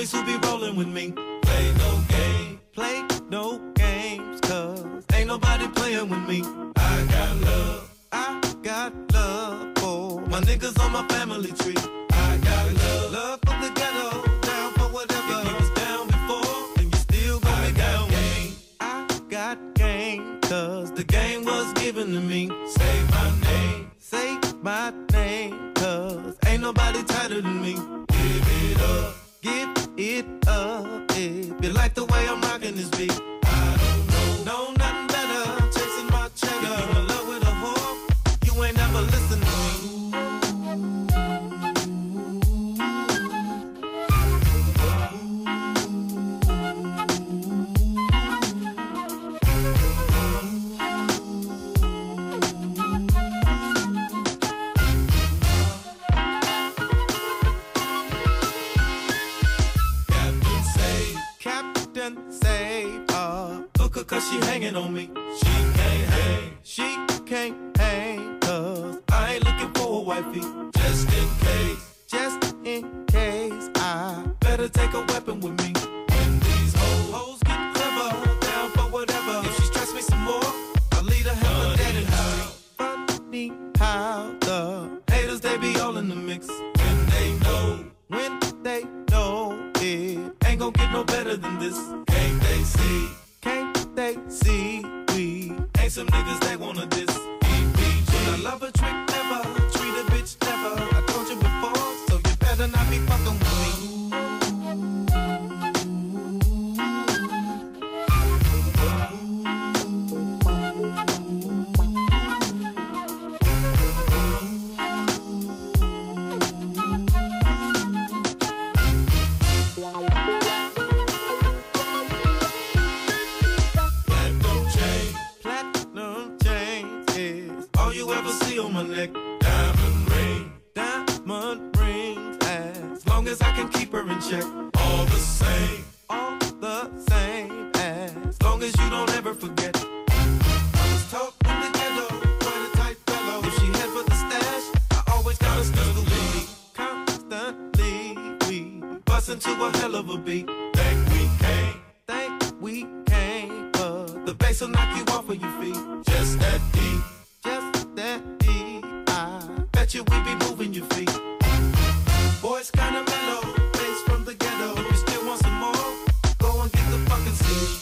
homies who be rolling with me. Play no games, cause ain't nobody playing with me. I got love for my niggas on my family tree. I got love for the ghetto, down for whatever. If you was down before, then you still gonna be down with me. I got game, cause the game was given to me. Say my name, cause ain't nobody tighter than me. Give it up, if you like the way I'm rocking this beat. I don't know nothing better, chasing my cheddar. If you in love with a whore, you ain't never listen to me. Cause she hanging on me. She can't hang, cause I ain't looking for a wifey. Just in case, I better take a weapon with me. When these hoes get clever, down for whatever. If she stress me some more, I'll lead her hell dead in her. Funny how the haters, they be all in the mix. When they know it ain't gon' get no better than this. Can't they see we ain't some niggas they wanna diss. When I love a trick, never treat a bitch, never. I told you before, so you better not be fucking with me. On my neck, diamond rings, as long as I can keep her in check. All the same, as long as you don't ever forget. I was taught in the ghetto, quite a tight fellow. If she head for the stash, I always got a pistol with me. Constantly, we bust into a hell of a beat. Think we came, but the bass will knock you off of your feet. Just that deep. Bet you we be moving your feet. Boys kinda mellow, bass from the ghetto. If you still want some more, go and get the fucking seat.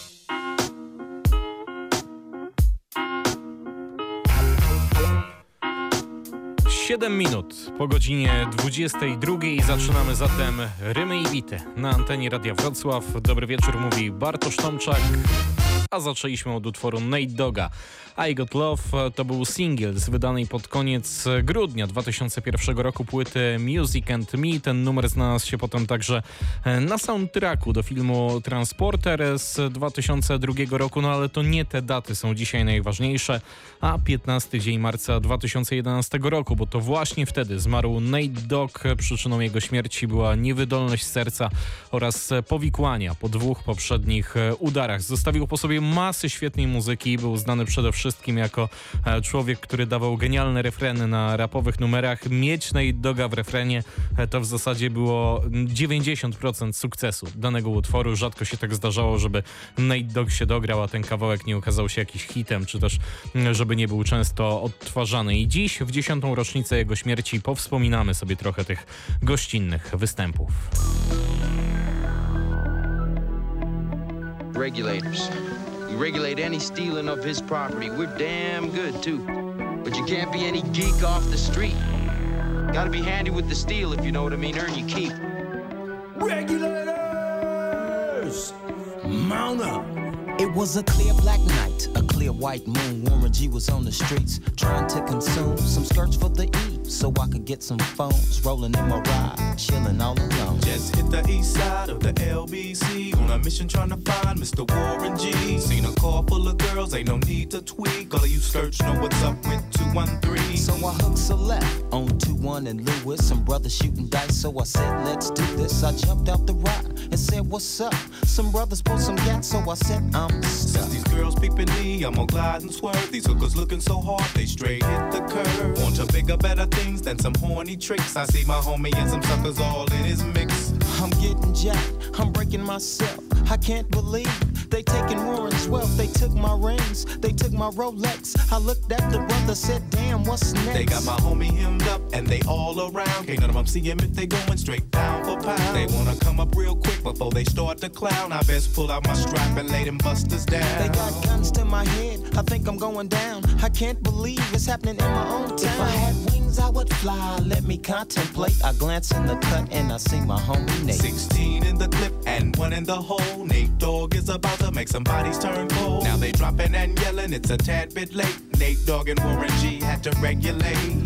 7 minut po godzinie 22 zaczynamy zatem Rymy i Bity na antenie Radia Wrocław. Dobry wieczór, mówi Bartosz Tomczak. A zaczęliśmy od utworu Nate Dogga. I Got Love to był singiel z wydanej pod koniec grudnia 2001 roku płyty Music and Me. Ten numer znalazł się potem także na soundtracku do filmu Transporter z 2002 roku, no ale to nie te daty są dzisiaj najważniejsze, a 15 dzień marca 2011 roku, bo to właśnie wtedy zmarł Nate Dogg. Przyczyną jego śmierci była niewydolność serca oraz powikłania po 2 poprzednich udarach. Zostawił po sobie masy świetnej muzyki, był znany przede wszystkim jako człowiek, który dawał genialne refreny na rapowych numerach. Mieć Nate Dogga w refrenie to w zasadzie było 90% sukcesu danego utworu. Rzadko się tak zdarzało, żeby Nate Dogg się dograł, a ten kawałek nie okazał się jakiś hitem, czy też żeby nie był często odtwarzany. I dziś, w 10. rocznicę jego śmierci, powspominamy sobie trochę tych gościnnych występów. Regulators. We regulate any stealing of his property. We're damn good, too. But you can't be any geek off the street. Gotta be handy with the steel, if you know what I mean. Earn your keep. Regulators! Mount up! It was a clear black night, a clear white moon. Warren G was on the streets trying to consume some skirts for the E, so I could get some phones. Rolling in my ride, chilling all alone. Just hit the east side of the LBC on a mission trying to find Mr. Warren G. Seen a car full of girls, ain't no need to tweak. All of you search know what's up with 213. So I hooked a left on 21 and Lewis. Some brothers shooting dice, so I said, let's do this. I jumped out the ride and said, what's up? Some brothers pulled some gas, so I said, I'm stuck. Since these girls peeping me, I'm gonna glide and swerve. These hookers looking so hard, they straight hit the curve. Want to bigger, better things than some horny tricks. I see my homie and some suckers all in his mix. I'm getting jacked, I'm breaking myself. I can't believe they taking Warren's wealth. They took my rings, they took my Rolex. I looked at the brother, said, damn, what's next? They got my homie hemmed up and they all around. Can't none of them see him if they going straight pound for pound. They wanna come up real quick before they start to clown. I best pull out my strap and lay them busters down. They got guns to my head, I think I'm going down. I can't believe it's happening in my own town. If I had wings, I would fly, let me contemplate. I glance in the cut and I see my homie Nate. 16 in the clip and 1 in the hole. Nate Dogg is about to make some bodies turn cold. Now they dropping and yelling, it's a tad bit late. Nate Dogg and Warren G had to regulate.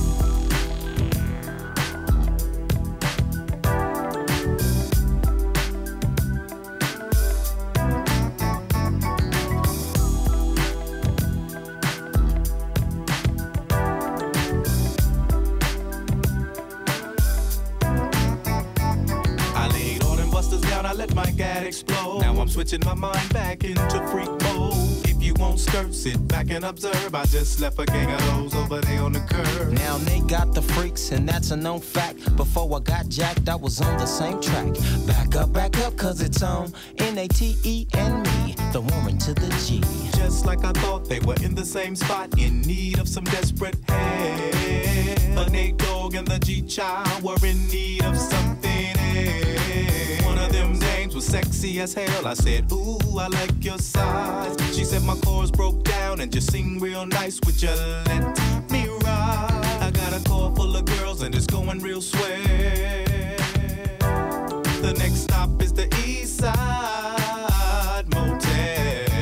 Explode. Now I'm switching my mind back into freak mode. If you won't skirt, sit back and observe. I just left a gang of those over there on the curb. Now they got the freaks and that's a known fact. Before I got jacked, I was on the same track. Back up, cause it's on N-A-T-E and me, the Warren to the G. Just like I thought, they were in the same spot, in need of some desperate help. The Nate Dogg and the G-Child were in need of something else. One of them names was sexy as hell. I said, ooh, I like your size. She said my chords broke down and just sing real nice. Would you let me ride? I got a car full of girls and it's going real swell. The next stop is the East Side Motel.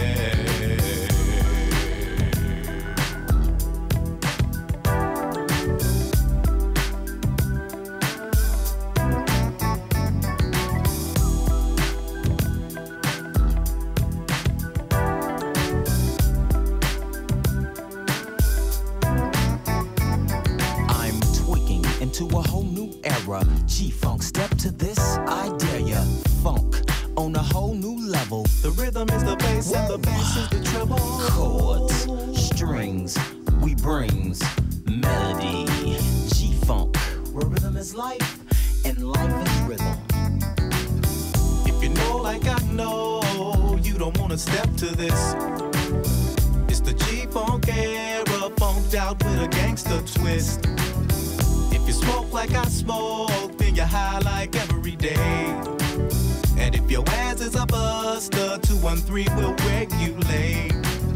To a whole new era, G-Funk, step to this, I dare ya. Funk on a whole new level. The rhythm is the bass and the bass is the treble. Chords, strings, we brings melody. G-Funk, where rhythm is life and life is rhythm. If you know like I know, you don't wanna step to this. It's the G-Funk era, funked out with a gangster twist. If you smoke like I smoke, then you're high like every day. And if your ass is a buster, 213 will regulate.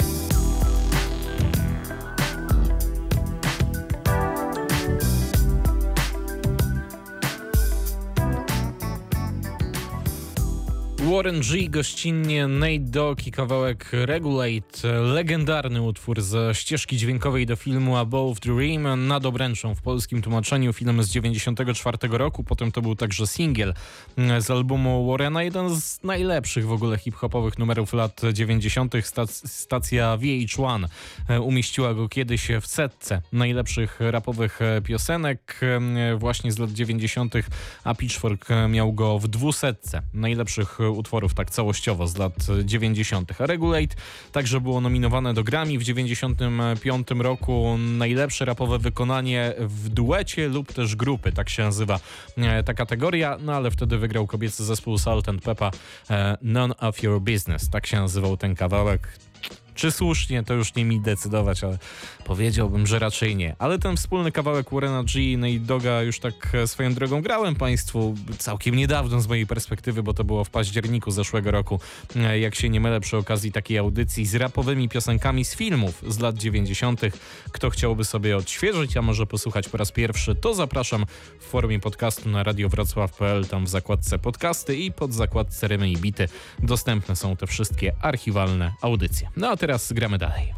Warren G, gościnnie Nate Dogg i kawałek Regulate, legendarny utwór ze ścieżki dźwiękowej do filmu Above the Rim, nad obręczą w polskim tłumaczeniu, film z 94 roku, potem to był także singiel z albumu Warrena, jeden z najlepszych w ogóle hip-hopowych numerów lat 90. Stacja VH1 umieściła go kiedyś w setce najlepszych rapowych piosenek właśnie z lat 90., a Pitchfork miał go w 200 najlepszych utworów tak całościowo z lat 90. A Regulate także było nominowane do Grammy w 95 roku. Najlepsze rapowe wykonanie w duecie lub też grupy, tak się nazywa ta kategoria, no ale wtedy wygrał kobiecy zespół Salt and Pepper, None of Your Business, tak się nazywał ten kawałek. Czy słusznie, to już nie mi decydować, ale powiedziałbym, że raczej nie. Ale ten wspólny kawałek Warrena G i Nate Dogga już tak swoją drogą grałem Państwu całkiem niedawno z mojej perspektywy, bo to było w październiku zeszłego roku, jak się nie mylę, przy okazji takiej audycji z rapowymi piosenkami z filmów z lat 90. Kto chciałby sobie odświeżyć, a może posłuchać po raz pierwszy, to zapraszam w formie podcastu na radiowrocław.pl, tam w zakładce podcasty i pod zakładce Rymy i Bity dostępne są te wszystkie archiwalne audycje. No a teraz gramy dalej.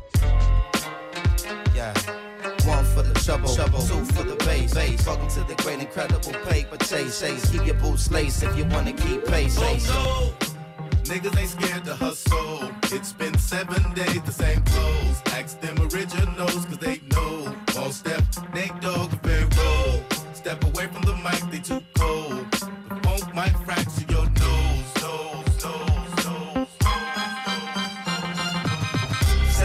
Yeah. One for the trouble, two for the bass. Welcome to the great incredible paper chase. Keep your boots laced if you wanna keep pace. Oh no, niggas ain't scared to hustle. It's been 7 days, the same clothes. Ask them originals, cause they know. All step, Nate Dogg, very roll. Step away from the mic, they too cold. The funk might fracture your nose. Say my name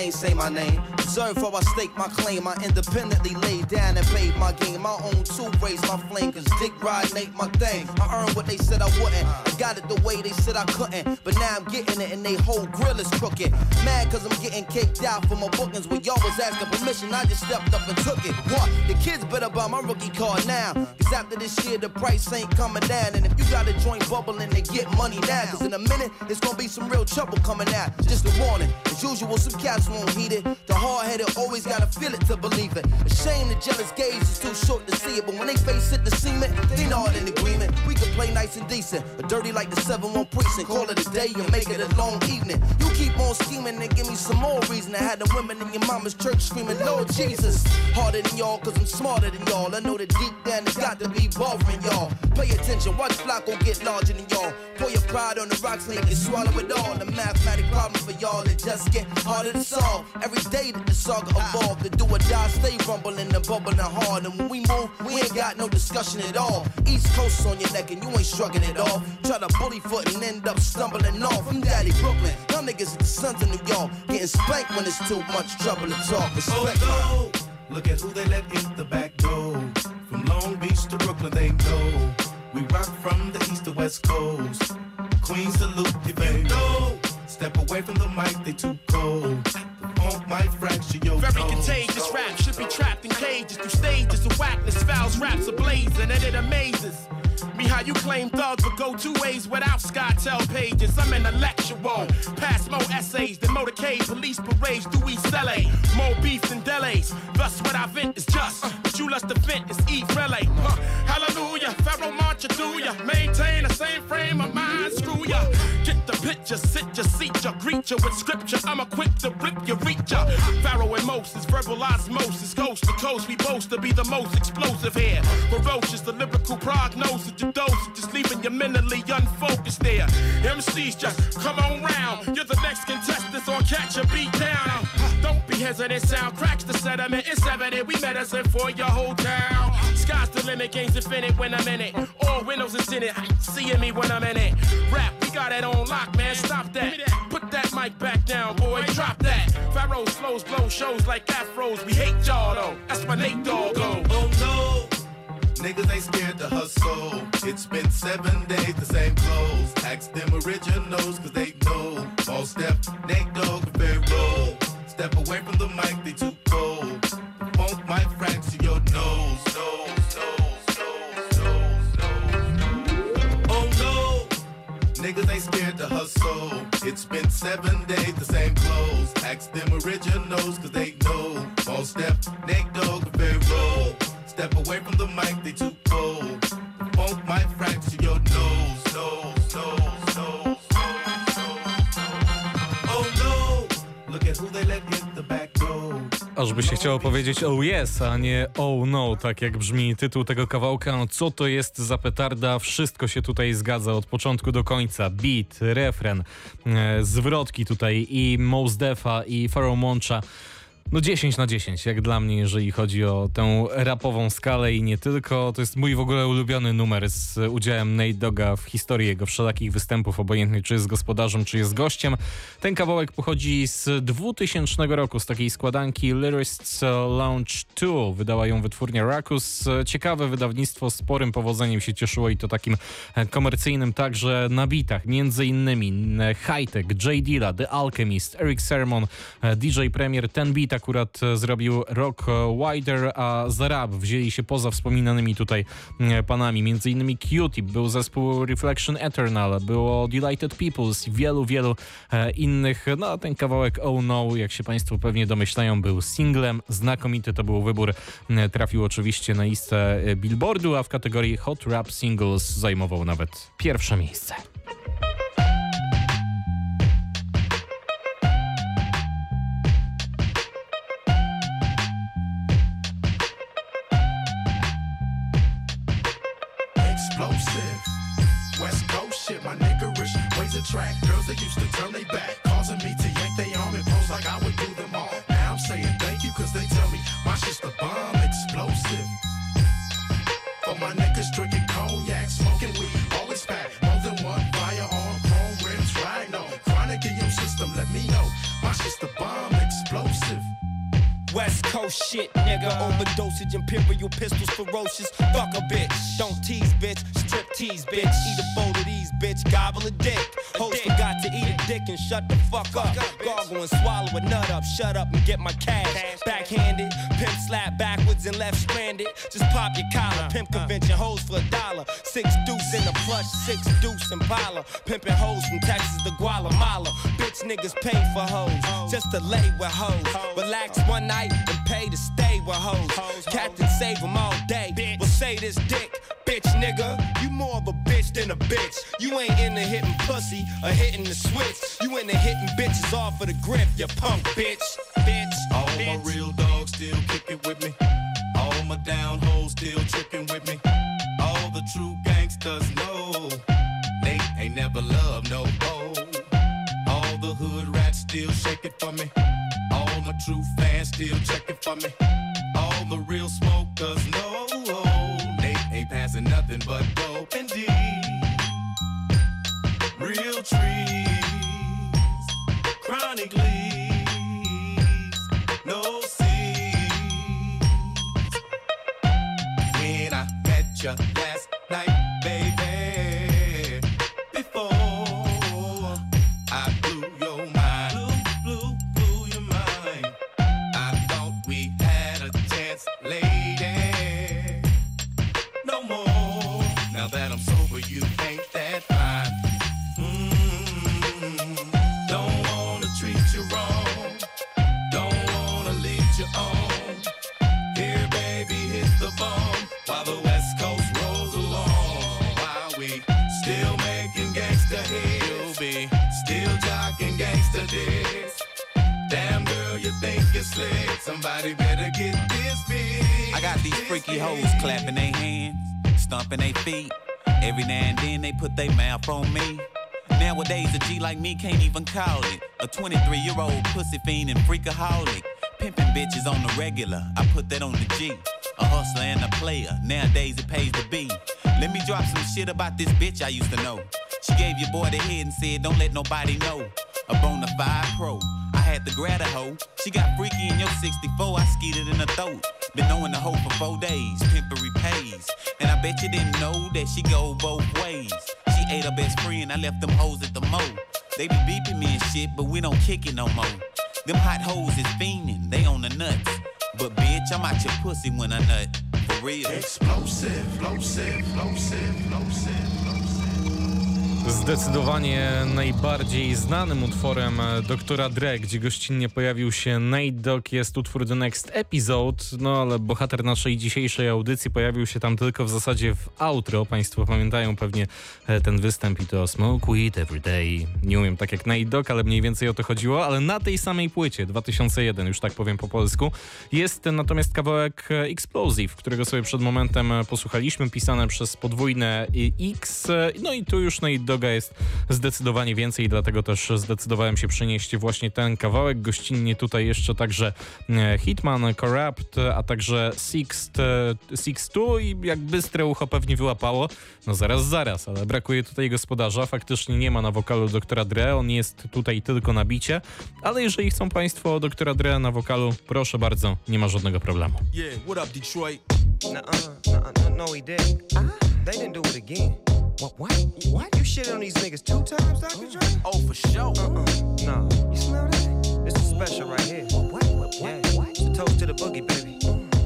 ain't say my name. Observe how I stake my claim. I independently laid down and paid my game. My own two raised my flame, cause dick riding ain't my thing. I earned what they said I wouldn't. I got it the way they said I couldn't. But now I'm getting it and they whole grill is crooked. Mad cause I'm getting caked out for my bookings. When y'all was asking permission, I just stepped up and took it. What? The kids better buy my rookie card now. Cause after this year, the price ain't coming down. And if you got a joint bubbling, then get money now. Cause in a minute, it's gonna be some real trouble coming out. Just a warning. As usual, some cats won't heed it. The hard-headed always gotta feel it to believe it. A shame the jealous gaze is too short to see it. But when they face it, the cement, they not in agreement. We can play nice and decent, or dirty like the 7-1 precinct. Call it a day and make it a long evening. You keep on scheming and give me some more reason to have the women in your mama's church screaming, Lord Jesus. Harder than y'all, cause I'm smarter than y'all. I know that deep down it's got to be bothering y'all. Pay attention, watch Flacco get larger than y'all. Pour your pride on the rocks and you can swallow it all. The mathematic problem for y'all, it just get harder to solve. Every day that the saga evolve, the do or die stay rumbling and bubbling hard. And when we move, we ain't got no discussion at all. East Coast on your neck and you ain't shrugging it off. Try to bully foot and end up stumbling off. I'm Daddy Brooklyn, y'all niggas are the sons of New York. Getting spanked when it's too much trouble to talk. Respect no. Look at who they let in the back door. From Long Beach to Brooklyn, they know. We rock from the east to west coast. Queens salute if you know. Step away from the mic, they too cold. The funk might fracture your Very toes. contagious rap should be trapped in cages through stages of whackness, fouls, raps ablazing, and it amazes me how you claim thugs would go two ways without SkyTel pages. I'm intellectual, pass more essays than motorcade, police parades through East LA. More beef than delays, thus what I vent is just what you lust to vent is eat relay. Hallelujah, Pharaoh Moncha do ya, maintain the same frame of mind, screw ya. Get the picture, sit ya, seat ya, greet ya with scripture. I'm equipped to rip ya, reach ya. Pharaoh and Moses, verbal osmosis, coast to coast, we boast to be the most explosive here. Ferocious, the lyrical prognosis. Your dose, just leaving you mentally unfocused there. MCs just come on round. You're the next contestant on Catch a Beat Down. Don't be hesitant, sound cracks the sediment. It's evident we medicine for your whole town. Sky's the limit, game's infinite when I'm in it. All windows is in it, seeing me when I'm in it. Rap, we got it on lock, man, stop that. Put that mic back down, boy, drop that. Pharaoh's flows blow shows like afros. We hate y'all though, that's my Nate Dogg. Oh no. Niggas ain't scared to hustle. It's been 7 days, the same clothes. Ask them originals, cause they know. All step, Nate Dogg, and Pharaoh. Step away from the mic, they too cold. The funk might fracture your nose. Oh no. Niggas ain't scared to hustle. It's been 7 days, the same clothes. Ask them originals, cause they know. All step, Nate Dogg, and Pharaoh. Step away from the mic, they too cold. The funk might fracture your nose. Oh no. Look at who they let in the back door. Aż by się chciało powiedzieć oh yes, a nie oh no, tak jak brzmi tytuł tego kawałka. No co to jest za petarda? Wszystko się tutaj zgadza od początku do końca. Beat, refren, zwrotki tutaj i Mos Defa i Pharaoh Moncha. No 10 na 10, jak dla mnie, jeżeli chodzi o tę rapową skalę i nie tylko. To jest mój w ogóle ulubiony numer z udziałem Nate Dogga w historii jego wszelakich występów, obojętnie czy jest gospodarzem, czy jest gościem. Ten kawałek pochodzi z 2000 roku, z takiej składanki Lyric's Lounge 2. Wydała ją wytwórnia Ruckus. Ciekawe wydawnictwo, sporym powodzeniem się cieszyło i to takim komercyjnym także na bitach. Między innymi Hi-Tech, J Dilla, The Alchemist, Eric Sermon, DJ Premier. Ten beat akurat zrobił Rock Wider, a za rap wzięli się poza wspominanymi tutaj panami. Między innymi Q-Tip, był zespół Reflection Eternal, było Delighted Peoples i wielu innych. No a ten kawałek Oh No, jak się Państwo pewnie domyślają, był singlem. Znakomity to był wybór. Trafił oczywiście na listę Billboardu, a w kategorii Hot Rap Singles zajmował nawet pierwsze miejsce. West Coast shit, my niggerish ways attract girls that used to turn they back, causing me to yank they arm and pose like I would do them all. Now I'm saying thank you cause they tell me my shit's the bomb explosive. For my niggas drinking cognac, smoking weed, always pack more than one firearm, chrome rims, right? No, chronic in your system, let me know my shit's the bomb explosive. Coast shit, nigga. Overdosage, imperial pistols, ferocious. Fuck a bitch. Don't tease, bitch. Strip tease, bitch. Eat a bowl of these, bitch. Gobble a dick. Hoes forgot to eat a dick and shut the fuck up. Gargle and swallow a nut up. Shut up and get my cash. Backhanded. Pimp slap backwards and left stranded. Just pop your collar. Pimp convention hoes for $1. 6 deuce in the plush. 6 deuce Impala. Pimping hoes from Texas to Guatemala. Bitch niggas pay for hoes. Just to lay with hoes. Relax one night and pay to stay with hoes. Captain save them all day. Well say this dick. Bitch nigga, you more of a bitch than a bitch. You ain't into hitting pussy or hitting the switch. You into hitting bitches off of the grip, you punk bitch. Bitch. All my real dogs still kicking with me. All my down hoes still tricking with me. All the true gangsters know they ain't never loved no hoe. All the hood rats still shaking for me. All my true fans still checking for me. All the real smokers know they ain't passing nothing but dope and D. Real trees, chronic leaves, no seeds. When I met you last night, baby, before I blew your mind, blew your mind. I thought we had a chance, lady. No more. Now that I'm sober, you ain't that fine. Don't wanna treat you wrong. Don't wanna lead you on. Here, baby, hit the bomb while the West Coast rolls along. While we still making gangsta hits, you'll be still jocking gangsta dicks. Damn girl, you think you're slick. Somebody better get this big. I got these freaky hoes clapping their hands, stomping their feet. Every now and then they put their mouth on me. Nowadays a G like me can't even call it a 23-year-old pussy fiend and freakaholic. Pimping bitches on the regular, I put that on the G. A hustler and a player, nowadays it pays to be. Let me drop some shit about this bitch I used to know. She gave your boy the head and said don't let nobody know. A bona fide pro, I had to grab a hoe. She got freaky in your 64, I skeeted in her throat. Been knowing the hoe for 4 days, pimpery pays. And I bet you didn't know that she go both ways. She ate her best friend, I left them hoes at the mo. They be beeping me and shit, but we don't kick it no more. Them hot hoes is fiending, they on the nuts. But bitch, I'm out your pussy when I nut. For real. Explosive, explosive, explosive, explosive. Zdecydowanie najbardziej znanym utworem Dr. Dre, gdzie gościnnie pojawił się Nate Dogg, jest utwór The Next Episode, no ale bohater naszej dzisiejszej audycji pojawił się tam tylko w zasadzie w outro. Państwo pamiętają pewnie ten występ i to Smoke Weed Every Day. Nie umiem tak jak Nate Dogg, ale mniej więcej o to chodziło, ale na tej samej płycie 2001, już tak powiem po polsku, jest natomiast kawałek Explosive, którego sobie przed momentem posłuchaliśmy, pisane przez podwójne X, no i tu już Nate Dogga jest zdecydowanie więcej, dlatego też zdecydowałem się przynieść właśnie ten kawałek. Gościnnie tutaj jeszcze także Hitman, Corrupt, a także Six2 i jak bystre ucho pewnie wyłapało, no zaraz, ale brakuje tutaj gospodarza, faktycznie nie ma na wokalu Dr. Dre, on jest tutaj tylko na bicie, ale jeżeli chcą państwo Dr. Dre na wokalu, proszę bardzo, nie ma żadnego problemu. Yeah, what up Detroit? No he didn't. They didn't do it again. What? You shit on these niggas 2 times, Dr. Dre? Oh, for sure. No. You smell that? This is special right here. What? Yeah. It's a toast to the boogie, baby.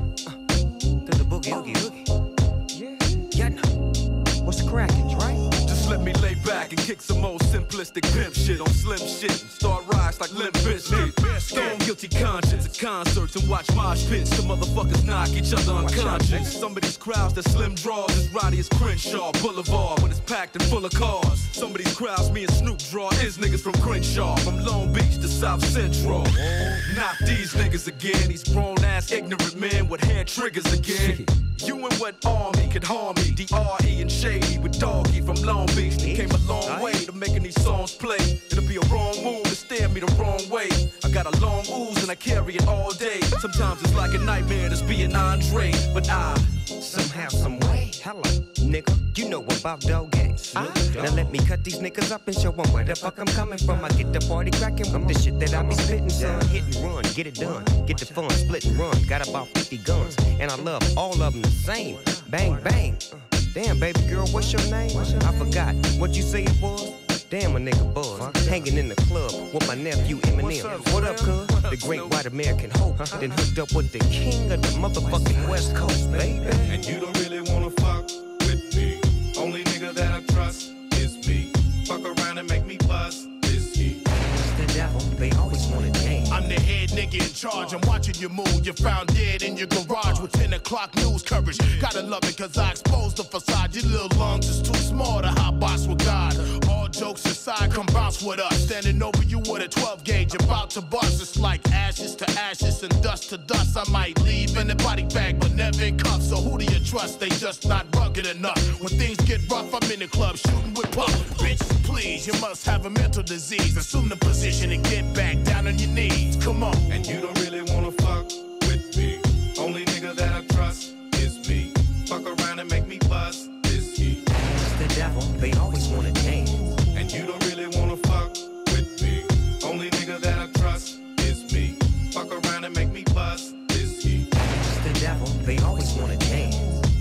To the boogie, oogie. Yeah, no. What's cracking, Dre? Just let me lay back and kick some old simplistic pimp shit on slim shit and start rise like Limp Bizkit. Stone guilty conscience at concerts and watch mosh pits. The motherfuckers knock each other unconscious. Some of these crowds that slim draws as rowdy as Crenshaw Boulevard when it's packed and full of cars. Some of these crowds me and Snoop draw is niggas from Crenshaw, from Long Beach to South Central. Not these niggas again, these grown ass ignorant men with hair triggers again. You and what army could harm me? D.R.E. and Shady with Doggy from Long Beach. They came a long way to making these songs play. It'll be a wrong move to stare me the wrong way. I got a long ooze and I carry it all day. Sometimes it's like a nightmare just being Andre, but I somehow, some way Hello, nigga, you know about dog games. Now let me cut these niggas up and show them where the fuck I'm coming from. I get the party cracking with the shit that I be spitting, son. Hit and run, get it done, get the fun, split and run. Got about 50 guns, and I love all of them the same. Bang, bang. Damn, baby girl, what's your name? I forgot what you say it was. Damn, a nigga buzz, hanging in the club with my nephew Eminem. What up, cuz? The great white American hope. Then hooked up with the king of the motherfucking West Coast, baby. And you don't really wanna fuck with me. Only nigga that I trust is me. Fuck around and make me bust this heat. The devil, they always wanna dance. I'm the head nigga in charge. I'm watching you move. You're found dead in your garage with 10 o'clock news coverage. Gotta love it cause I exposed the facade. Your little lungs is too small to hot box with God. All jokes aside, come bounce with us. Standing over you with a 12 gauge, about to bust. It's like ashes to ashes and dust to dust. I might leave in a body bag, but never in cuffs. So who do you trust? They just not rugged enough. When things get rough, I'm in the club shooting with puff. Bitches, please, you must have a mental disease. Assume the position and get back down on your knees. Come on. And you don't really wanna fuck with me. Only nigga that I trust is me. Fuck around and make me bust this heat. It's the devil, they always wanna dance. And you don't really wanna fuck with me. Only nigga that I trust is me. Fuck around and make me bust this heat. It's the devil, they always wanna dance.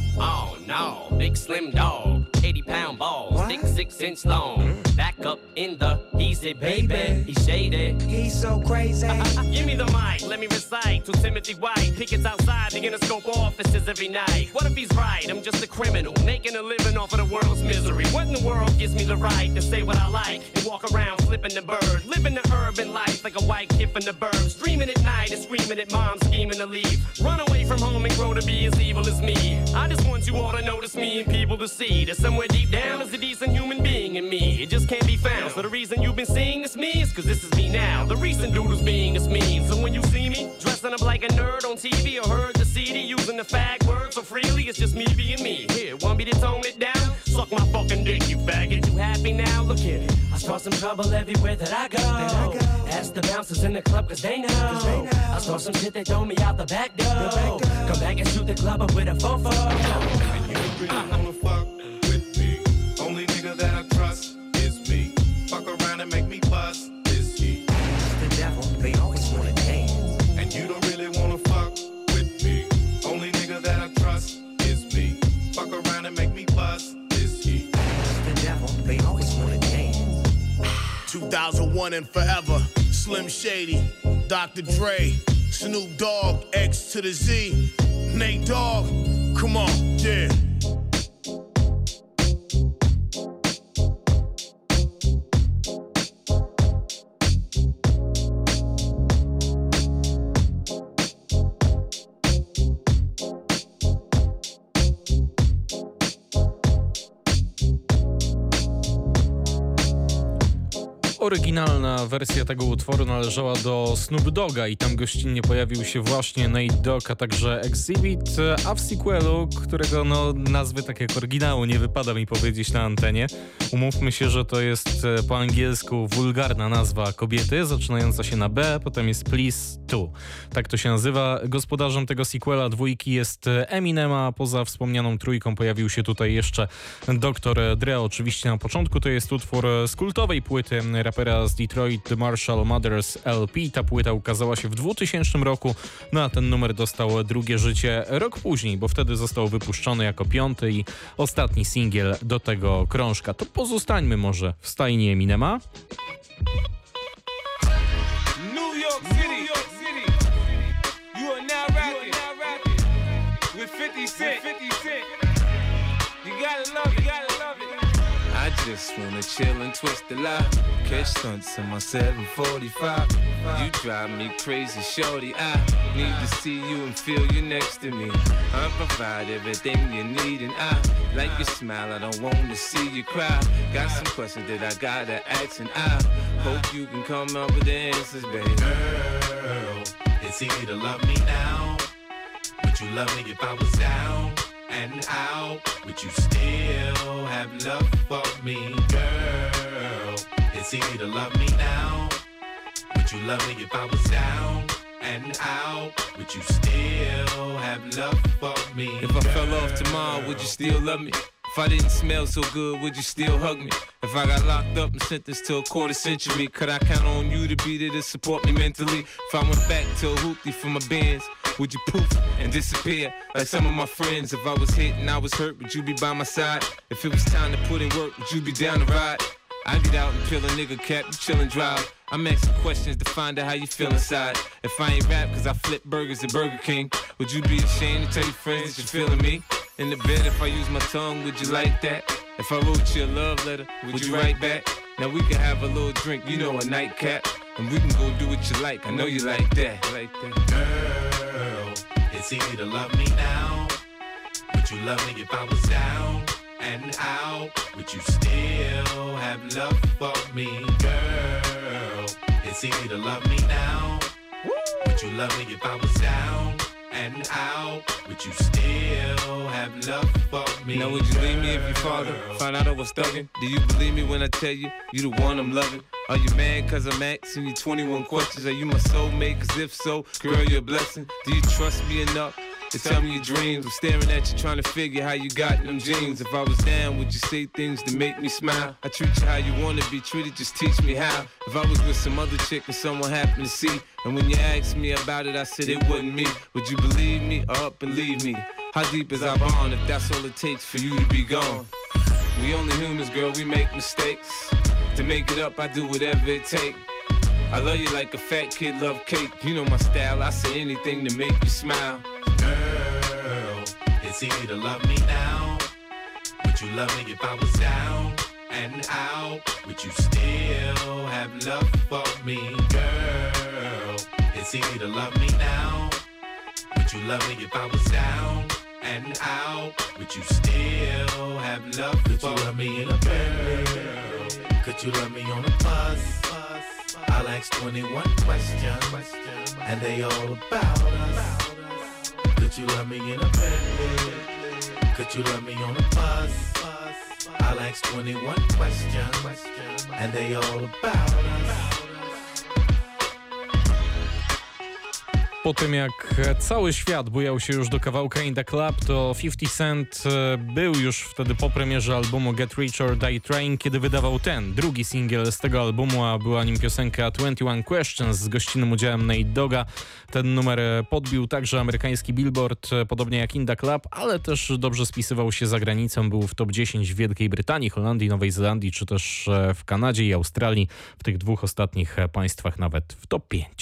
Oh no, big slim dog, 80-pound balls, thick 6-inch long. Back up in the easy, baby. He's shady. He's so crazy. Give me the mic, let me recite to Timothy White. Pickets outside the Interscope offices every night. What if he's right? I'm just a criminal, making a living off of the world's misery. What in the world gives me the right to say what I like and walk around flipping the bird, living the urban life like a white kid from the burbs, dreaming at night and screaming at mom, scheming to leave. Run away from home and grow to be as evil as me. I just want you all to notice me and people to see that somewhere deep down there's a decent human being in me. It just can't be found. So the reason you've been seeing this me is cause this is me now. The recent dude who's being is me. So when you see me dressing up like a nerd on TV or heard the CD using the fag word so freely, it's just me being me. Here, want me to tone it down? Suck my fucking dick, you faggot. You happy now? Look at it. I start some trouble everywhere that I go. Ask the bouncers in the club cause they know. I start some shit, they throw me out the back door. Come back and shoot the club up with a fofo. And you don't really wanna fuck with me. Only nigga that I trust is me. Fuck around and make me bust this heat. It's the devil, they always wanna dance. And you don't really wanna fuck with me. Only nigga that I trust is me. Fuck around and make me bust this heat. It's the devil, they always wanna dance. 2001 and forever. Slim Shady, Dr. Dre, Snoop Dogg, X to the Z, Nate Dogg. Come on, yeah. Oryginalna wersja tego utworu należała do Snoop Dogga i tam gościnnie pojawił się właśnie Nate Dogg, a także Exhibit, a w sequelu, którego nazwy tak jak oryginału nie wypada mi powiedzieć na antenie. Umówmy się, że to jest po angielsku wulgarna nazwa kobiety, zaczynająca się na B, potem jest Please To. Tak to się nazywa. Gospodarzem tego sequela dwójki jest Eminem, a poza wspomnianą trójką pojawił się tutaj jeszcze Dr. Dre. Oczywiście na początku to jest utwór z kultowej płyty rapera z Detroit, The Marshall Mathers LP. Ta płyta ukazała się w 2000 roku, a ten numer dostał drugie życie rok później, bo wtedy został wypuszczony jako 5. i ostatni singiel do tego krążka. To pozostańmy może w stajni Eminema. New York City, you are now rapping with 50 Cent. You gotta love it, I just wanna chill and twist the lie. Catch stunts in my 745. You drive me crazy, shorty. I need to see you and feel you next to me. I provide everything you need, and I like your smile. I don't wanna see you cry. Got some questions that I gotta ask, and I hope you can come up with the answers, baby. Girl, it's easy to love me now. Would you love me if I was down and out? Would you still have love for me, girl? It's easy to love me now. Would you love me if I was down and out, would you still have love for me? If I fell off tomorrow, would you still love me? If I didn't smell so good, would you still hug me? If I got locked up and sentenced to a quarter century, could I count on you to be there to support me mentally? If I went back to a hoopty for my bands, would you poof and disappear like some of my friends? If I was hit and I was hurt, would you be by my side? If it was time to put in work, would you be down to ride? I get out and peel a nigga cap, you chill and drive. I'm asking questions to find out how you feel inside. If I ain't rap cause I flip burgers at Burger King, would you be ashamed to tell your friends that you're feeling me? In the bed, if I use my tongue, would you like that? If I wrote you a love letter, would you write back? Now we can have a little drink, you know, a nightcap, and we can go do what you like. I know you like that. Girl, it's easy to love me now. Would you love me if I was down and out? Would you still have love for me? Girl, it's easy to love me now. Would you love me if I was down and out? Would you still have love for me? Now would you leave me if your father found out I was thugging? Do you believe me when I tell you, you the one I'm loving? Are you mad cause I'm asking you 21 questions? Are you my soulmate? Cause if so, girl, you're a blessing. Do you trust me enough to tell me your dreams? I'm staring at you trying to figure how you got them jeans. If I was down, would you say things to make me smile? I treat you how you wanna be treated, just teach me how. If I was with some other chick and someone happened to see, and when you asked me about it, I said it wasn't me, would you believe me or up and leave me? How deep is our bond if that's all it takes for you to be gone? We only humans, girl, we make mistakes. To make it up, I do whatever it takes. I love you like a fat kid love cake. You know my style, I say anything to make you smile. Girl, it's easy to love me now. Would you love me if I was down and out? Would you still have love for me? Girl, it's easy to love me now. Would you love me if I was down and out? Would you still have love for me? Could you love me in a Bentley? Could you love me on a bus? I'll ask 21 questions, and they all about us. Could you love me in a Bentley? Could you love me on a bus? I'll ask 21 questions, and they all about us. Po tym jak cały świat bujał się już do kawałka In The Club, to 50 Cent był już wtedy po premierze albumu Get Rich or Die Trying, kiedy wydawał ten, drugi singiel z tego albumu, a była nim piosenka 21 Questions z gościnnym udziałem Nate Dogga. Ten numer podbił także amerykański Billboard, podobnie jak In The Club, ale też dobrze spisywał się za granicą. Był w top 10 w Wielkiej Brytanii, Holandii, Nowej Zelandii, czy też w Kanadzie i Australii. W tych dwóch ostatnich państwach nawet w top 5.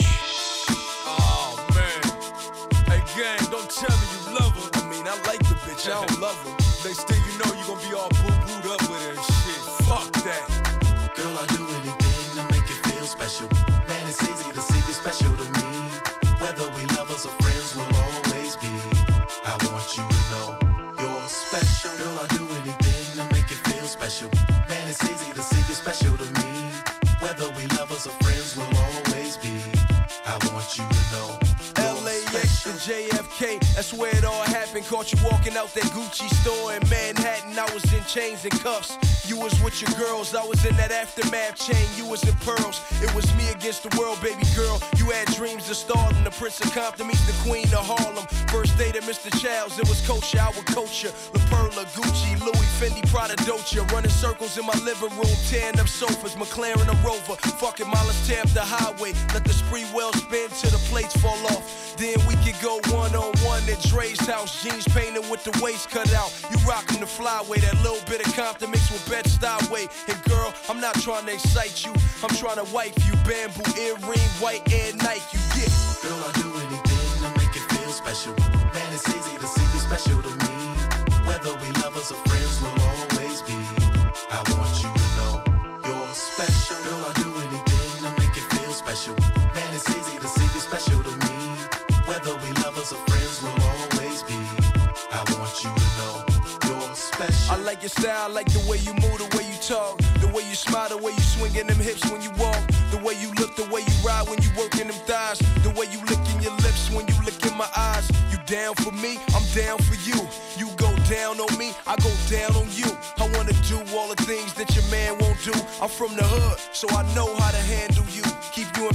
Gang, don't tell me you love her. I mean, I like the bitch, I don't love her. Next thing you know, you gon' be all boo-booed up with her and shit. Fuck that. Girl, I'll do anything to make you feel special. Man, it's easy to see you special to me. Whether we lovers or friends, we'll always be. I want you to know you're special. Girl, I'll do anything to make you feel special. Man, it's easy to see you special to me. Whether we lovers or friends, we'll always be. I want you to know. LAX to JFK, that's where it all happened. Caught you walking out that Gucci store in Manhattan. I was in chains and cuffs. You was with your girls, I was in that aftermath chain. You was in pearls, it was me against the world, baby girl. You had dreams of stardom. The Prince of Compton meets the Queen of Harlem. First date at Mr. Childs, it was kosher, I would coach you. La Perla, Gucci, Louis, Fendi, Prada, Dolce. Running circles in my living room, tearing up sofas, McLaren, a Rover. Fucking miles, tear up the highway. Let the spree well spin till the plates fall off. Then we could go one-on-one at Dre's house. Jeans painted with the waist cut out. You rockin' the flyway, that little bit of Compton mixed with Bed-Stuy way. And girl, I'm not trying to excite you, I'm trying to wipe you. Bamboo earring, white Air Nike, you get. Girl, I'll do anything to make you feel special. Man, it's easy to see you special to me. Whether we lovers or friends, we'll always be. I want you to know you're special. Girl, I'll do anything to make you feel special. Man, it's easy to see you special to me. Whether we lovers or friends, we'll always be. I want you to know you're special. I like your style, I like the way you move, the way you talk, the way you smile, the way you swingin' them hips when you walk, the way you look, the way you ride when you workin' them thighs, the way you lickin' your lips when you look in my eyes. You down for me, I'm down for you. You go down on me, I go down on you. I wanna do all the things that your man won't do. I'm from the hood, so I know how to handle you. Keep you in pink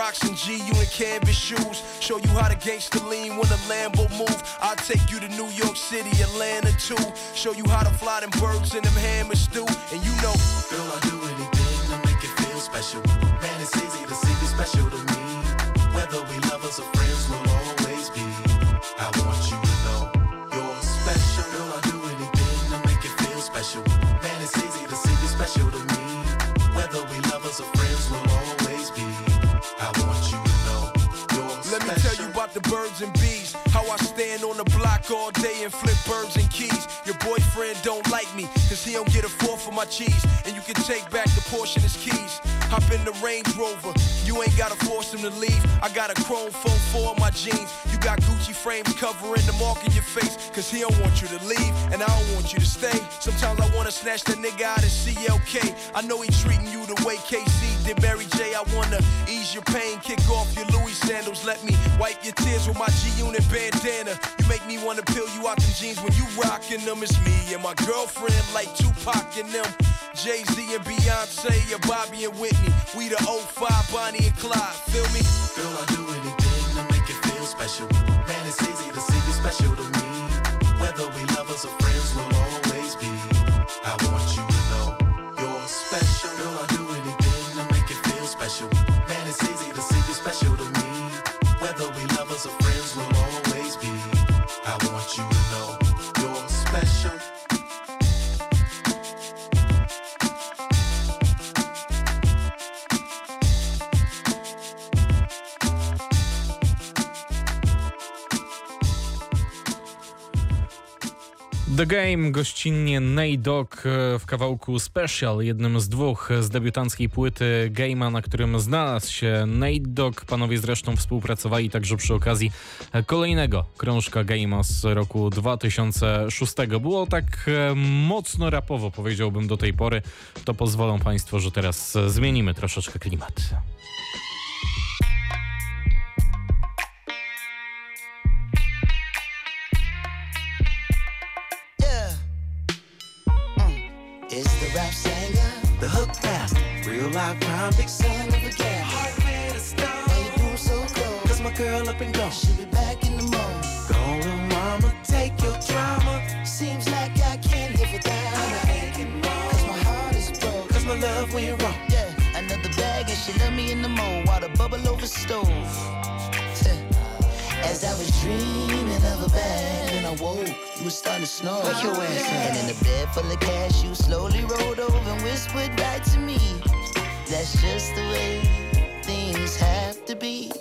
rocks and G, you in canvas shoes. Show you how to gangster lean when a Lambo move. I'll take you to New York City, Atlanta too. Show you how to fly them birds and them hammers do. And you know, girl, I'll do anything to make it feel special. Man, it's easy to see you special to me. Whether we lovers or friends, we'll always be. I want you to know you're special. Girl, I'll do anything to make it feel special. Man, it's easy to see you special to me. Whether we lovers or friends, we'll always be. I want you to know you're special. Let me tell you about the birds and bees. How I stand on the block all day and flip birds and keys. Your boyfriend don't like me, cause he don't get a fourth for my cheese. And you can take back the portion as keys. Hop in the Range Rover, you ain't gotta force him to leave. I got a chrome phone for my jeans. You got Gucci frames covering the mark in your face, cause he don't want you to leave, and I don't want you to stay. Sometimes I wanna snatch that nigga out of CLK. I know he treating you the way KC did Mary J. I wanna ease your pain, kick off your Louis sandals. Let me wipe your tears with my G-Unit bandana. You make me wanna peel you out them jeans when you rockin' them. It's me and my girlfriend like Tupac and them. Jay-Z and Beyonce, or Bobby and Whitney. We the 05 Bonnie and Clyde, feel me? Girl, I'll do anything to make it feel special. Man, it's easy to see you special to me. Whether we lovers or friends, we'll always be. I want you to know you're special. Girl, I'll do anything to make it feel special. Man, it's easy to see you special to me. Whether we lovers or friends, we'll always be. I want you to know you're special. The Game, gościnnie Nate Dogg w kawałku Special, jednym z dwóch z debiutanckiej płyty Game'a, na którym znalazł się Nate Dogg. Panowie zresztą współpracowali także przy okazji kolejnego krążka Game'a z roku 2006. Było tak mocno rapowo, powiedziałbym, do tej pory. To pozwolą Państwo, że teraz zmienimy troszeczkę klimat. Rap singer, the hook master, real life crime, big son of a gambler. Heart made of stone. Why you move so cold? Cause my girl up and gone. She'll be back in the morning. Gone, little mama, take your drama. Seems like I can't live without her. Cause my heart is broke. Cause my love went wrong. Yeah, another bag and she left me in the mold while the bubble over stove. As I was dreaming of a bag, and I woke, it was starting to snow. Wake your ass up. And in the bed full of cash, you slowly rolled over and whispered right to me. That's just the way things have to be.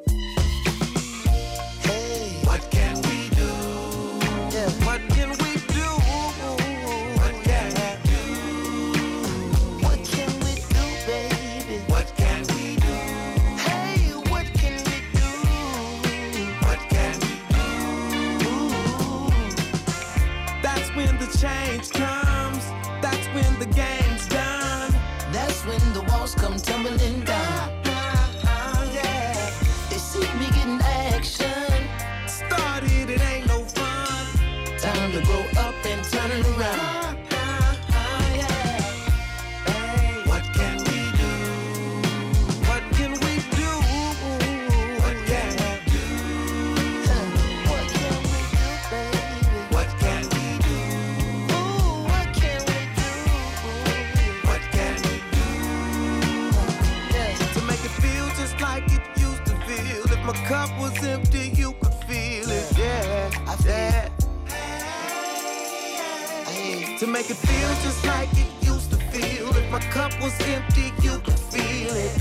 Hey, what can we do? Yeah, what can we do? What can we do? What can we do, baby? What can we do? Hey, what can we do? What can we do? That's when the change comes. That's when the game's done. That's when the walls come tumbling down. Yeah, they see me getting action. Started, it ain't no fun. Time to grow up and turn it around. What can we do? What can we do? What can we do? What can we do, baby? What can we do? Ooh, what can we do? What can we do? To make it feel just like it used to feel. If my cup was empty, you could feel it. Yeah, I feel it. To make it feel just like it used to feel. If my cup was empty, you could feel it.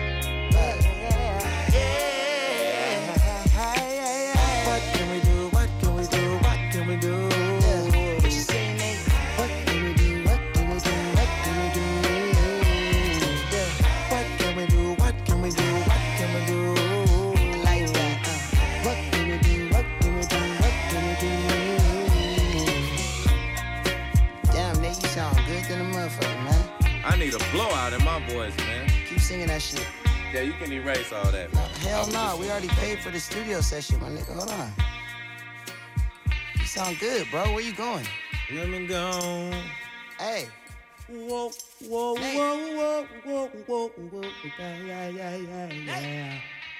What can we do? What can we do? What can we do? What you say, Nate? What can we do? What can we do? What can we do? What can we do? What can we do? What can we do? Like that. What can we do? What can we do? What can we do? Damn, Nate, you sound good than a motherfucker, man. I need a blowout in my voice, man. Keep singing that shit. Yeah, you can erase all that, man. Hell no, we already paid for the studio session, my nigga. Hold on. You sound good, bro. Where you going? Let me go. Hey, Whoa, whoa, whoa, whoa, whoa, whoa, whoa, yeah.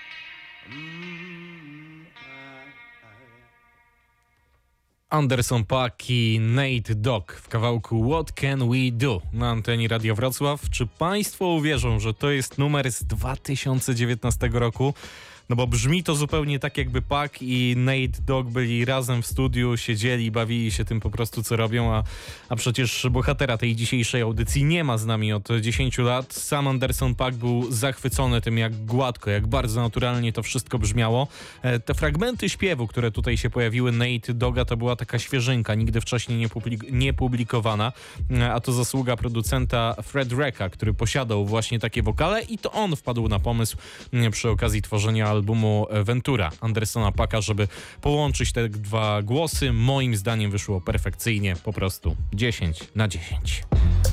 Anderson .Paak i Nate Dogg w kawałku What Can We Do na antenie Radia Wrocław. Czy państwo uwierzą, że to jest numer z 2019 roku? No bo brzmi to zupełnie tak, jakby Paak i Nate Dogg byli razem w studiu, siedzieli, bawili się tym po prostu, co robią, a przecież bohatera tej dzisiejszej audycji nie ma z nami od 10 lat. Sam Anderson .Paak był zachwycony tym, jak gładko, jak bardzo naturalnie to wszystko brzmiało. Te fragmenty śpiewu, które tutaj się pojawiły Nate Dogga, to była taka świeżynka, nigdy wcześniej nie publikowana, a to zasługa producenta Fred Recka, który posiadał właśnie takie wokale i to on wpadł na pomysł przy okazji tworzenia albumu Ventura Andersona .Paaka, żeby połączyć te dwa głosy. Moim zdaniem wyszło perfekcyjnie, po prostu 10 na 10.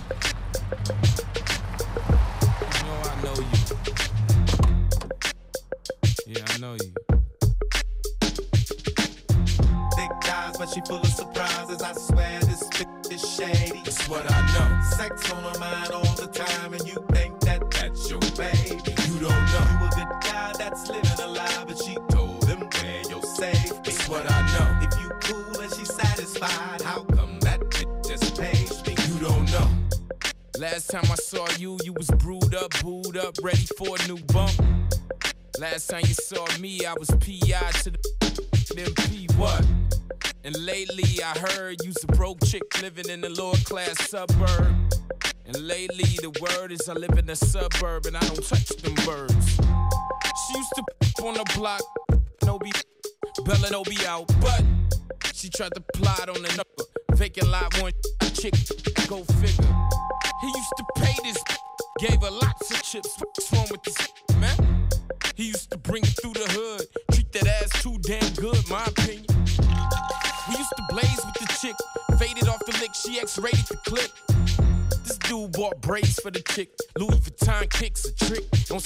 But she full of surprises, I swear this bitch is shady. That's what I know. Sex on her mind all the time, and you think that that's your baby. You don't know you a good guy that's living a lie, but she told him where you're safe. That's what I know. If you cool and she's satisfied, how come that bitch just pays me? You don't know. Last time I saw you, you was brewed up, booed up, ready for a new bump. Last time you saw me, I was P.I. to the MP. What? And lately I heard you's a broke chick living in a lower class suburb. And lately the word is I live in a suburb and I don't touch them birds. She used to on the block, no be Bella no be out, but she tried to plot on the vacant lot one chick, go figure. He used to pay this, gave her lots of chips. What's wrong with this man? He used to bring it through the hood, treat that ass too damn good, my opinion. We used to blaze with the chick, faded off the lick, she X-rated the clip. This dude bought braids for the chick, Louis Vuitton kicks a trick.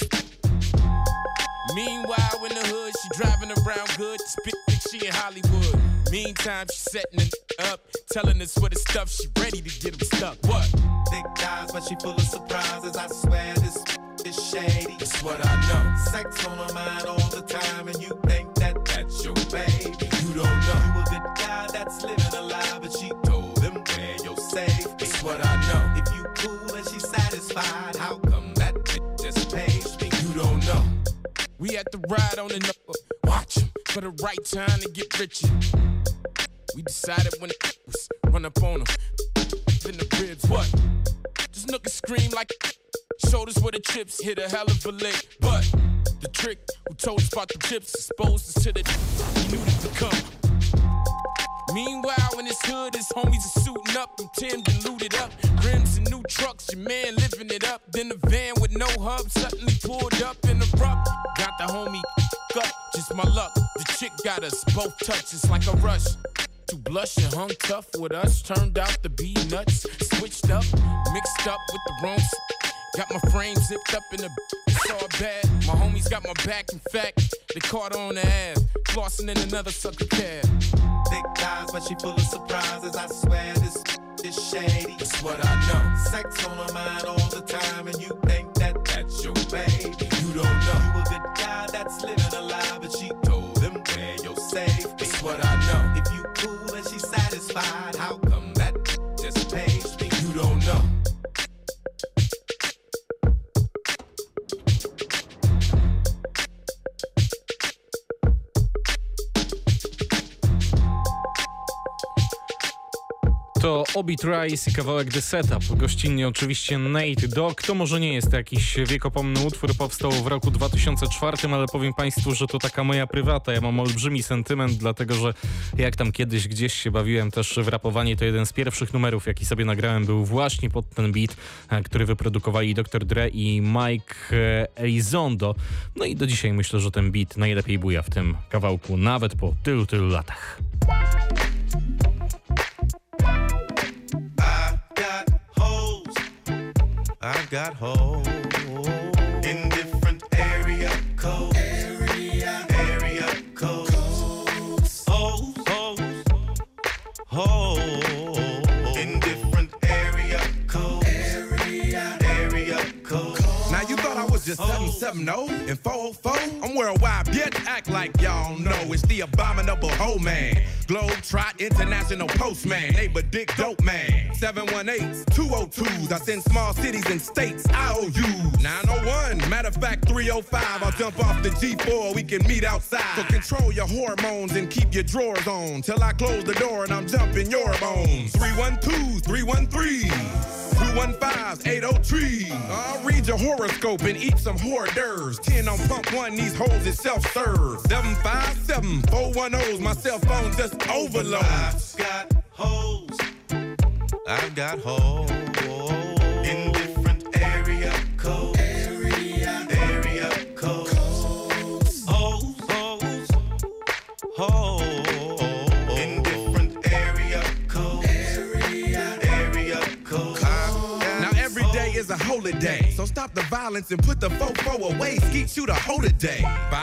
Meanwhile, in the hood, she driving around good, spit like she in Hollywood. Meantime, she setting it up, telling us what the stuff, she ready to get him stuck. What? Thick thighs, but she full of surprises, I swear this is shady. That's what I know. Sex on her mind all the time, and you think that that's your baby. You don't know you a good guy that's living a lie, but she told him where you're safe. That's what I know. If you cool and she's satisfied, how come that bitch just pays me? You don't know. We had to ride on the watch him for the right time to get richer. We decided when it was run up on him in the ribs. What? This nookie scream like shoulders where the chips hit a hell of a lick. But the trick who told us about the chips exposed us to the he knew to come. Meanwhile, in his hood, his homies are suiting up and Tim'd and looted up. Rims and new trucks, your man living it up. Then the van with no hub suddenly pulled up in the rough. Got the homie up, just my luck. The chick got us both touches like a rush. To blush and hung tough with us, turned out to be nuts. Switched up, mixed up with the wrong got my frame zipped up in the it's all bad. My homies got my back, in fact, they caught her on the ass, flossing in another sucker cab. Thick thighs, but she full of surprises, I swear this is shady. That's what I know. Sex on her mind all the time, and you think that that's your baby. You don't know you a good guy that's living a lie, but she told him where you're safe. That's what I know. If you cool and she's satisfied, how come that just pays me? You don't know. To Obi Trice i kawałek The Setup. Gościnnie oczywiście Nate Dogg. To może nie jest jakiś wiekopomny utwór, powstał w roku 2004, ale powiem Państwu, że to taka moja prywata. Ja mam olbrzymi sentyment, dlatego że jak tam kiedyś gdzieś się bawiłem też w rapowanie, to jeden z pierwszych numerów, jaki sobie nagrałem, był właśnie pod ten beat, który wyprodukowali Dr. Dre i Mike Elizondo. No i do dzisiaj myślę, że ten beat najlepiej buja w tym kawałku, nawet po tylu latach. I've got holes in different area codes. Area codes. Holes in different area codes. 770 and 404. I'm worldwide, bitch. Act like y'all know it's the abominable hoe man. Globetrot International Postman. Neighbor Dick Dope Man. 718s, 202s. I send small cities and states IOUs. 901, matter of fact 305. I'll jump off the G4, we can meet outside. So control your hormones and keep your drawers on till I close the door and I'm jumping your bones. 312, 313. 215s, 803. I'll read your horoscope and eat some hors d'oeuvres. 10 on pump 1, these hoes is self-serve. 757, 410s, my cell phone just overloads. I've got hoes in different area codes. Area codes. Hoes. In different area codes. Area codes. Now every day is a holiday, so stop the violence and put the fofo away. Skeet you the whole day.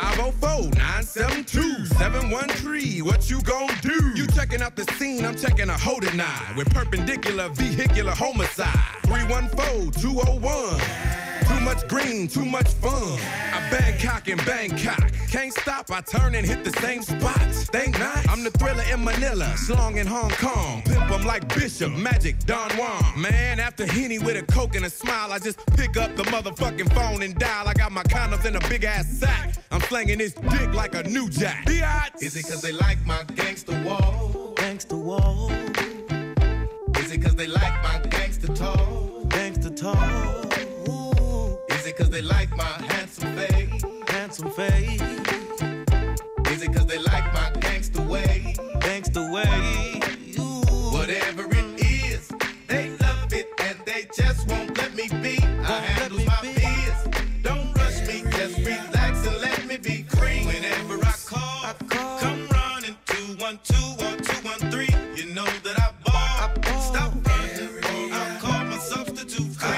504-972-713. What you gon' do? You checking out the scene, I'm checking a hoe tonight. With perpendicular vehicular homicide. 314-201. Too much green, too much fun. I Bangkok in Bangkok. Can't stop, I turn and hit the same spot. Think not, I'm the thriller in Manila. Slong in Hong Kong. Pimp 'em like Bishop, Magic, Don Juan. Man, after Henny with a Coke and a smile, I just pick up the motherfucking phone and dial. I got my condoms in a big ass sack. I'm slanging this dick like a new jack. Is it cause they like my gangster wall? Gangster wall. Is it cause they like my gangster talk? Gangster talk. Is it cause they like my handsome face? Handsome face. Is it cause they like my gangster way? Gangster way. Whatever it is, they love it and they just won't let me be. I handle my biz. Don't rush me, just relax and let me be free. Whenever I call, come running 212 or 213. You know that I ball. Stop running, I'll call my substitute free.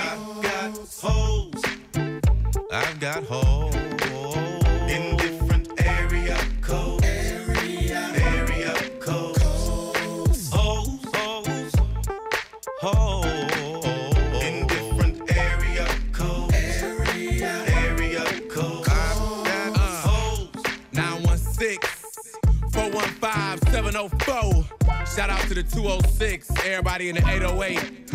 I've got hoes in different area codes. Area codes. Hoes in different area codes. Area codes. I've got hoes. 916-415-704. Shout out to the 206. Everybody in the 808.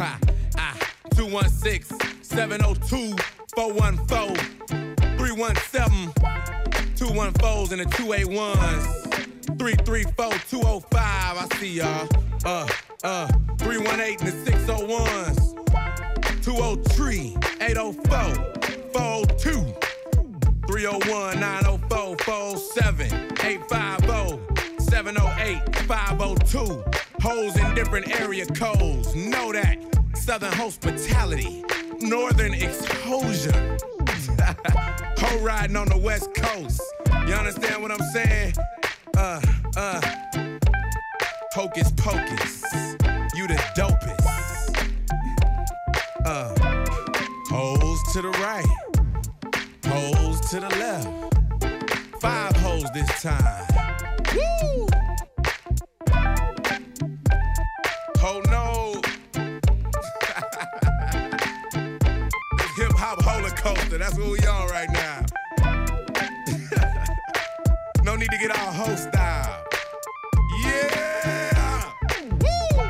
216-702. 414, 317, 214s and the 281s, 334, 205, I see y'all, 318 and the 601s, 203, 804, 402, 301, 904, 47, 850, 708, 502, hoes in different area codes, know that, Southern hospitality, Northern exposure. Ho riding on the West Coast. You understand what I'm saying? Hocus pocus. You the dopest. Hoes to the right. Hoes to the left. 5 hoes this time. Woo! Oh no. Hip-hop holocaust, that's what we on right now. No need to get all hoe style. Yeah! Woo!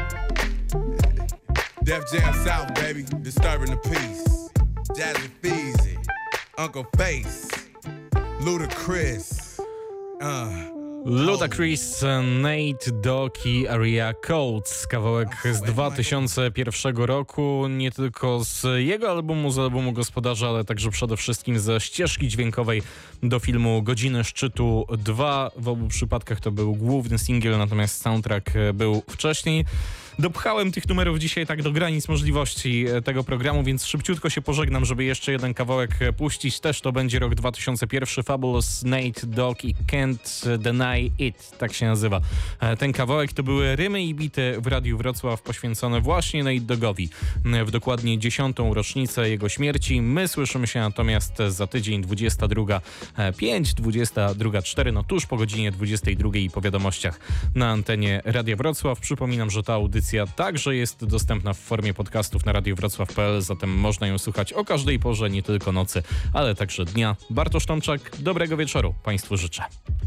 Def Jam South, baby. Disturbing the peace. Jazzy Feezy. Uncle Face. Ludacris. Ludacris, Nate Dogg i Area Codes. Kawałek z 2001 roku, nie tylko z jego albumu, z albumu Gospodarza, ale także przede wszystkim ze ścieżki dźwiękowej do filmu Godziny Szczytu 2. W obu przypadkach to był główny singiel, natomiast soundtrack był wcześniej. Dopchałem tych numerów dzisiaj tak do granic możliwości tego programu, więc szybciutko się pożegnam, żeby jeszcze jeden kawałek puścić. Też to będzie rok 2001. Fabulous, Nate Dogg i Can't Deny It, tak się nazywa. Ten kawałek to były rymy i bity w Radiu Wrocław poświęcone właśnie Nate Doggowi w dokładnie 10. rocznicę jego śmierci. My słyszymy się natomiast za tydzień 22:05, 22:04, no tuż po godzinie 22 i po wiadomościach na antenie Radia Wrocław. Przypominam, że ta audycja audycja także jest dostępna w formie podcastów na radiowrocław.pl, zatem można ją słuchać o każdej porze, nie tylko nocy, ale także dnia. Bartosz Tomczak, dobrego wieczoru Państwu życzę.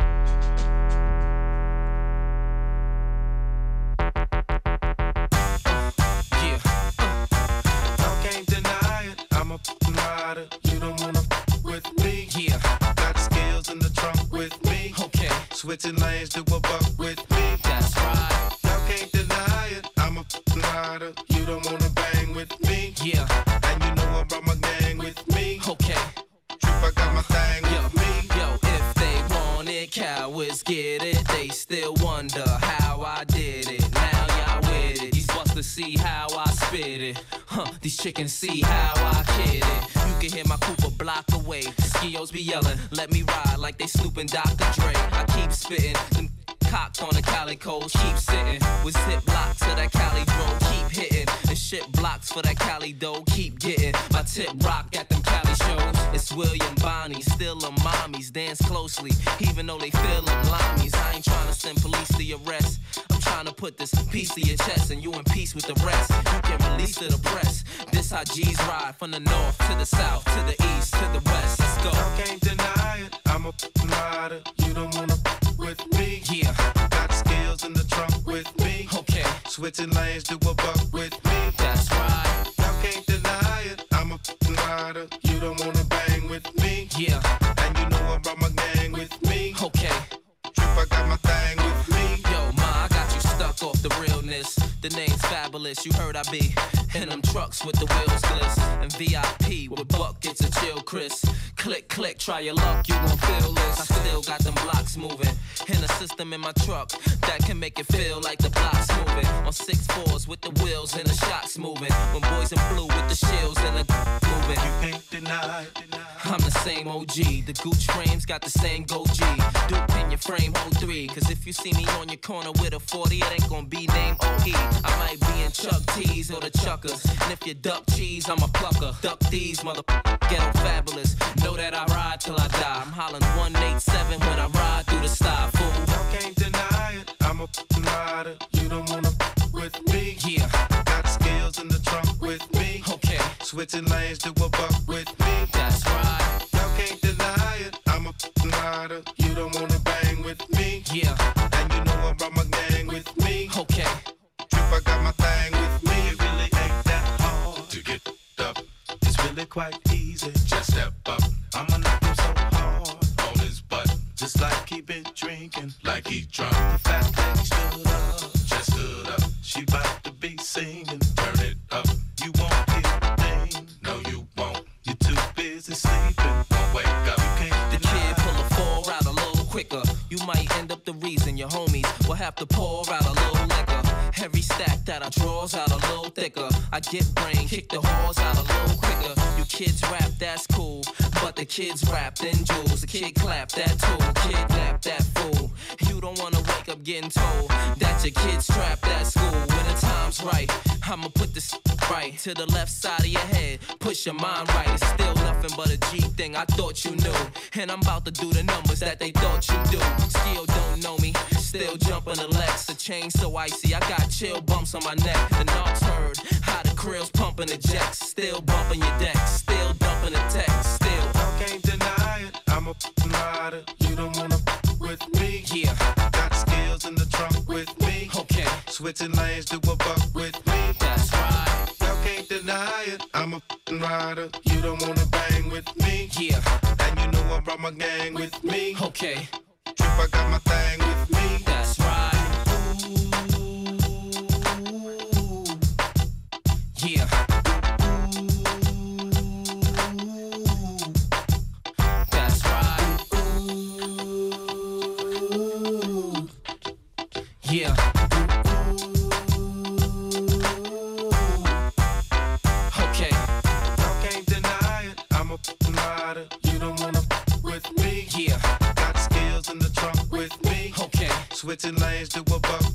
Switching lanes to a buck with me. That's right. Y'all can't deny it. I'm a rider. You don't wanna bang with me. Yeah. And you know I brought my gang with me. Okay. Trip, I got my thing with me. Yo, if they want it, cowards get it. They still wonder how I did it. Now y'all with it. These busters see how I spit it. These chickens see how I kid it. You can hear my coupe a block away. Skios be yelling, let me ride like they snooping Dr. Dre. I keep spitting, them cocked on the calicos, keep sitting with zip blocks to that Cali drone, keep hitting and shit blocks for that Cali dough, keep getting my tip rock at them Cali shows. It's William Bonney, still them mommies, dance closely, even though they feel them limeys. I ain't trying to send police to your arrest. I'm trying to put this piece to your chest and you in peace with the rest. You can release to the press. This how G's ride from the north to the south, to the east, to the west. Let's go. I can't deny it. I'm a rider. You don't wanna with me. Yeah. Got skills in the trunk with me. Okay. Switching lanes to a buck with me. That's right. Y'all can't deny it. I'm a rider. You don't wanna bang with me. Yeah. And you know I brought my gang with me. Okay. Trip, I got my thing with me. Yo, ma, I got you stuck off the realness. The name's fabulous. You heard I be in them trucks with the wheels gliss. And VIP with buckets of chill, Chris. Click, click, try your luck, you won't feel this. I still got them blocks moving. In a system in my truck that can make it feel like the blocks moving. On 6-4s with the wheels and the shocks moving. When boys in blue with the shields and the moving. You can't deny. I'm the same OG. The Gooch frames got the same go G. Duke in your frame, hold 3. Cause if you see me on your corner with a 40, it ain't gonna be named OE. I might be in Chuck T's or the Chuckers. And if you duck cheese, I'm a plucker. Duck these, mother ghetto fabulous. Know that I ride till I die. I'm hollering 187 when I ride through the sty, fool. Y'all can't deny it. I'm a rider. You don't wanna with me. Yeah. Got skills in the trunk with me. Okay. Switching lanes to a buck with me. That's right. Y'all can't deny it. I'm a rider. You don't wanna bang with me. Yeah. And you know I brought my gang with me. Okay. Trip, I got my thing with me. It really ain't that hard to get up. It's really quite easy. Just step up. I'ma knock him so hard on his butt. Just like he been drinking, like he drunk. The fact that he stood up, just stood up. She bout to be singing, turn it up. You won't hear a thing, no you won't. You're too busy sleeping, won't wake up. You can't the kid pull a 4 out a little quicker. You might end up the reason your homies will have to pour out a little liquor. Every stack that I draws out a little thicker. I get brain, kick the whores out a little quicker. You kids rap, that's cool, but the kids wrapped in jewels. The kid clap that tool, kidnap that fool. You don't wanna wake up getting told that your kid's trapped at school. When the time's right, I'ma put this right to the left side of your head. Push your mind right, it's still nothing but a G thing I thought you knew. And I'm about to do the numbers that they thought you do. Still don't know me, still jumping the Lex. The chain so icy, I got chill bumps on my neck. The knocks heard, how the krill's pumping the jacks. Still bumping your decks, still dumping the text. Still, I can't deny it. I'm a rider. You don't wanna with me. Yeah. Got skills in the trunk with me. Okay. Switching lanes to a buck with me. That's right. Y'all can't deny it. I'm a rider. You don't wanna bang with me. Yeah. And you know I brought my gang with me. Okay. Trip, I got my thing with me. That's right. Yeah. That's right. Yeah. Okay. Y'all can't deny it. I'm a rider. You don't wanna with me. Yeah. Got skills in the trunk with me. Okay. Switching lanes to a buck